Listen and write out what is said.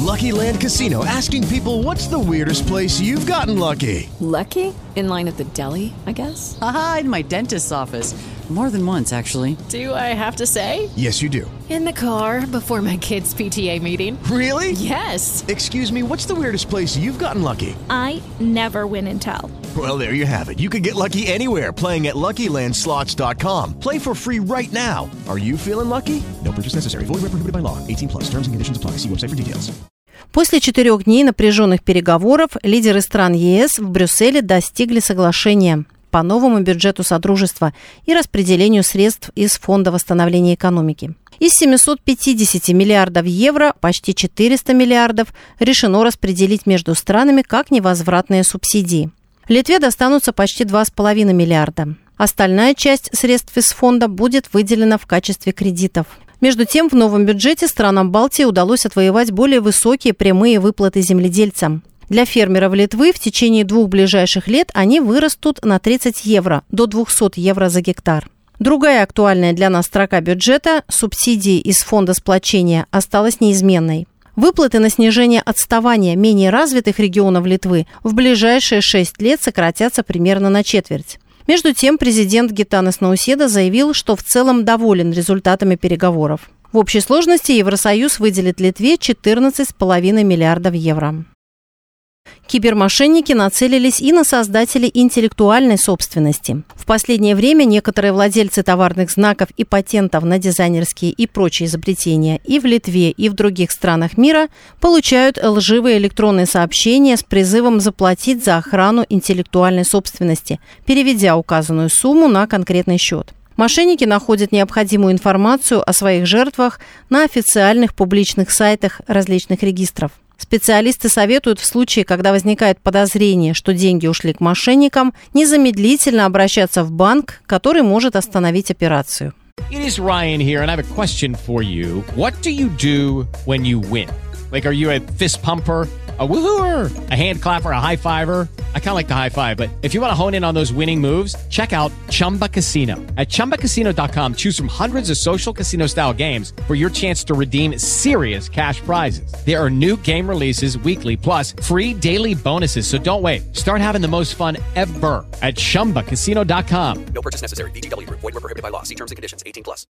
Lucky Land Casino, asking people, what's the weirdest place you've gotten lucky? Lucky? In line at the deli, I guess? Aha, in my dentist's office. More than once, actually. Do I have to say? Yes, you do. In the car before my kids' PTA meeting. Really? Yes. Excuse me, what's the weirdest place you've gotten lucky? I never win and tell. Well, there you have it. You can get lucky anywhere, playing at LuckyLandSlots.com. Play for free right now. Are you feeling lucky? No purchase necessary. Void where prohibited by law. 18+. Terms and conditions apply. See website for details. После 4 дней напряженных переговоров лидеры стран ЕС в Брюсселе достигли соглашения по новому бюджету Содружества и распределению средств из Фонда восстановления экономики. Из 750 миллиардов евро почти 400 миллиардов решено распределить между странами как невозвратные субсидии. Литве достанутся почти 2,5 миллиарда. Остальная часть средств из фонда будет выделена в качестве кредитов. Между тем, в новом бюджете странам Балтии удалось отвоевать более высокие прямые выплаты земледельцам. Для фермеров Литвы в течение 2 ближайших лет они вырастут на 30 евро до 200 евро за гектар. Другая актуальная для нас строка бюджета – субсидии из фонда сплочения – осталась неизменной. Выплаты на снижение отставания менее развитых регионов Литвы в ближайшие 6 лет сократятся примерно на четверть. Между тем, президент Гитанас Науседа заявил, что в целом доволен результатами переговоров. В общей сложности Евросоюз выделит Литве 14,5 миллиардов евро. Кибермошенники нацелились и на создателей интеллектуальной собственности. В последнее время некоторые владельцы товарных знаков и патентов на дизайнерские и прочие изобретения и в Литве, и в других странах мира получают лживые электронные сообщения с призывом заплатить за охрану интеллектуальной собственности, переведя указанную сумму на конкретный счет. Мошенники находят необходимую информацию о своих жертвах на официальных публичных сайтах различных регистров. Специалисты советуют в случае, когда возникает подозрение, что деньги ушли к мошенникам, незамедлительно обращаться в банк, который может остановить операцию. It is Ryan here, and I have a question for you. What do you do when you win? Like, are you a fist pumper, a woo-hooer, a hand clapper, a high-fiver? I kind of like the high-five, but if you want to hone in on those winning moves, check out Chumba Casino. At ChumbaCasino.com, choose from hundreds of social casino-style games for your chance to redeem serious cash prizes. There are new game releases weekly, plus free daily bonuses, so don't wait. Start having the most fun ever at ChumbaCasino.com. No purchase necessary. VGW Group. Void where prohibited by law. See terms and conditions. 18+.